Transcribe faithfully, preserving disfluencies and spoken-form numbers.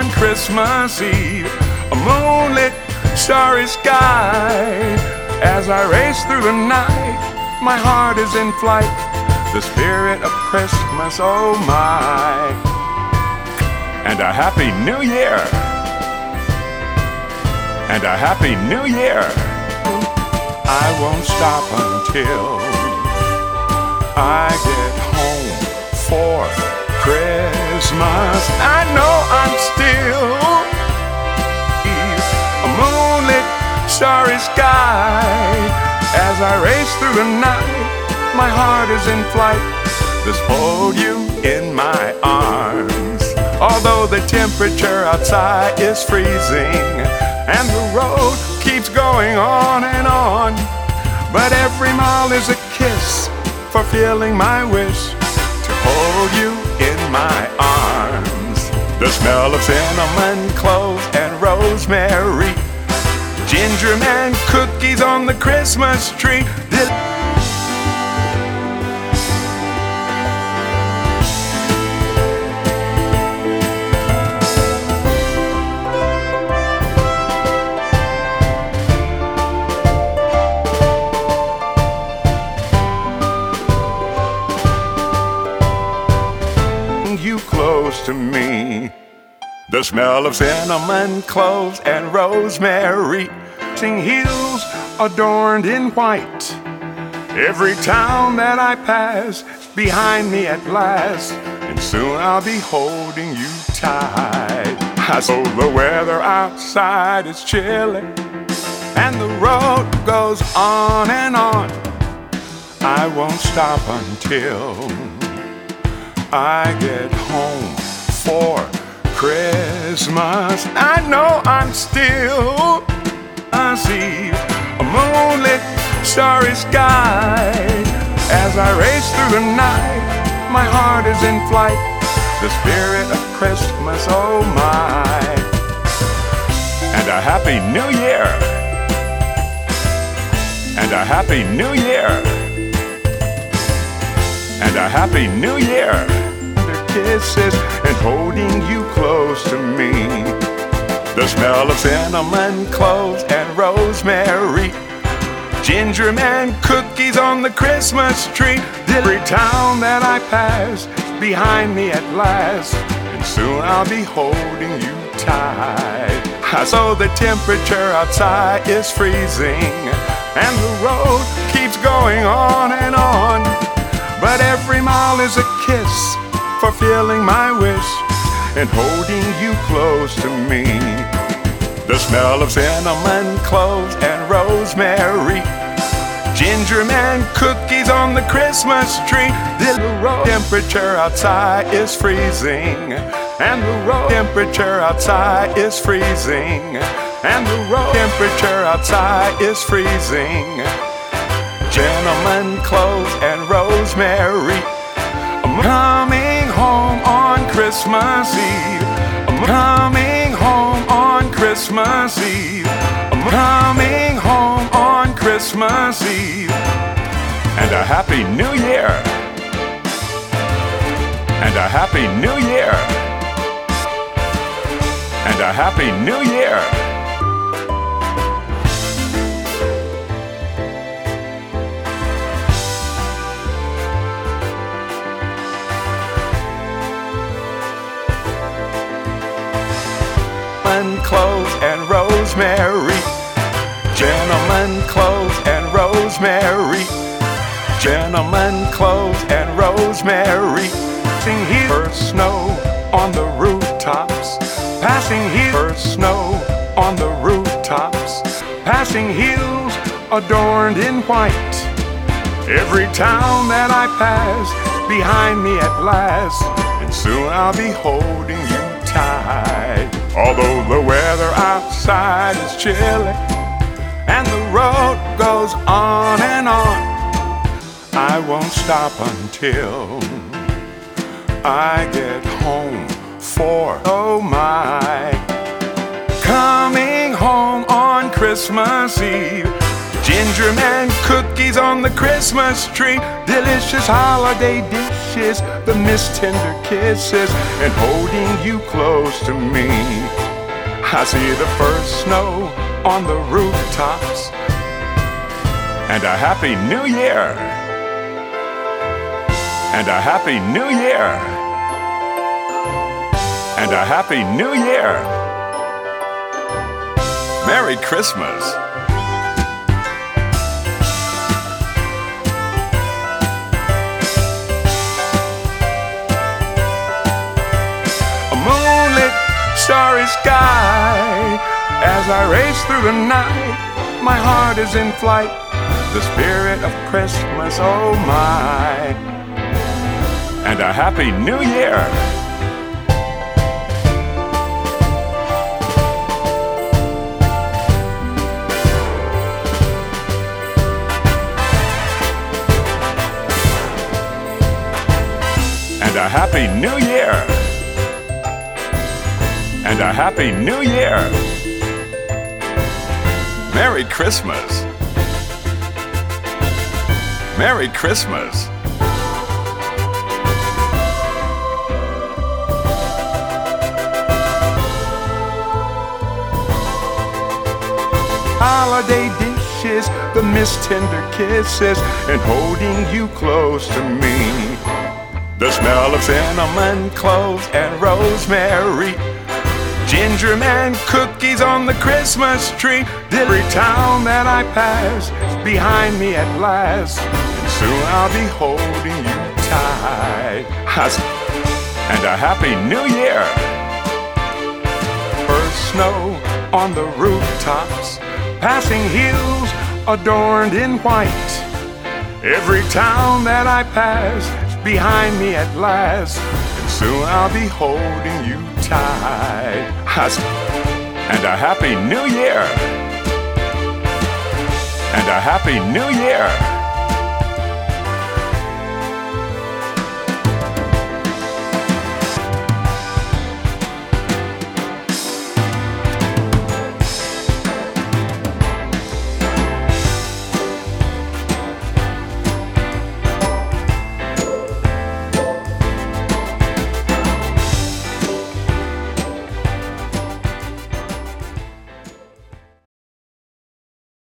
on Christmas Eve. A moonlit, starry sky. As I race through the night, my heart is in flight. The spirit of Christmas, oh my. And a happy new year. And a happy new year. I won't stop until I get home for Christmas. I know I'm still a moonlit, starry sky. As I race through the night, my heart is in flight. Just hold you in my arms. Although the temperature outside is freezing and the road keeps going on and on, but every mile is a kiss, fulfilling my wish to hold you in my arms. The smell of cinnamon, cloves, and rosemary, ginger man cookies on the Christmas tree. This you close to me. The smell of cinnamon, cloves, and rosemary, sing hills adorned in white. Every town that I pass behind me at last, and soon I'll be holding you tight. I know the weather outside is chilly, and the road goes on and on. I won't stop until I get home for Christmas. I know I'm still I see a moonlit, starry sky. As I race through the night, my heart is in flight. The spirit of Christmas, oh my. And a happy new year. And a happy new year. And a happy new year. Their kisses and holding you close to me. The smell of cinnamon, cloves, and rosemary, ginger man cookies on the Christmas tree. Every town that I pass behind me at last, and soon I'll be holding you tight. So the temperature outside is freezing, and the road keeps going on and on, but every mile is a kiss, fulfilling my wish and holding you close to me. The smell of cinnamon, cloves, and rosemary, ginger man cookies on the Christmas tree. The road temperature outside is freezing, and the road temperature outside is freezing, and the road temperature outside is freezing. Cinnamon, cloves, and rosemary. I'm coming home on Christmas Eve. I'm coming home on Christmas Eve. I'm coming home on Christmas Eve. And a happy new year. And a happy new year. And a happy new year. Cloves and rosemary, gentlemen, cloves and rosemary, gentlemen, cloves and rosemary. Passing here, first snow on the rooftops. Passing here, first snow on the rooftops. Passing hills adorned in white. Every town that I pass behind me at last, and soon I'll be holding you tight. Although the weather outside is chilly and the road goes on and on, I won't stop until I get home for oh my. Coming home on Christmas Eve, ginger man cookies on the Christmas tree, delicious holiday dishes dishes, the mist tender kisses, and holding you close to me. I see the first snow on the rooftops, and a happy new year, and a happy new year, and a happy new year. Merry Christmas. Starry sky, as I race through the night, my heart is in flight, the spirit of Christmas, oh my. And a happy new year. And a happy new year. And a happy new year. Merry Christmas. Merry Christmas. Holiday dishes, the mist tender kisses, and holding you close to me. The smell of cinnamon cloves and rosemary, ginger man cookies on the Christmas tree. Every town that I pass is behind me at last, and soon I'll be holding you tight. And a happy new year. First snow on the rooftops, passing hills adorned in white. Every town that I pass is behind me at last, and soon I'll be holding you tight. And a happy new year. And a happy new year.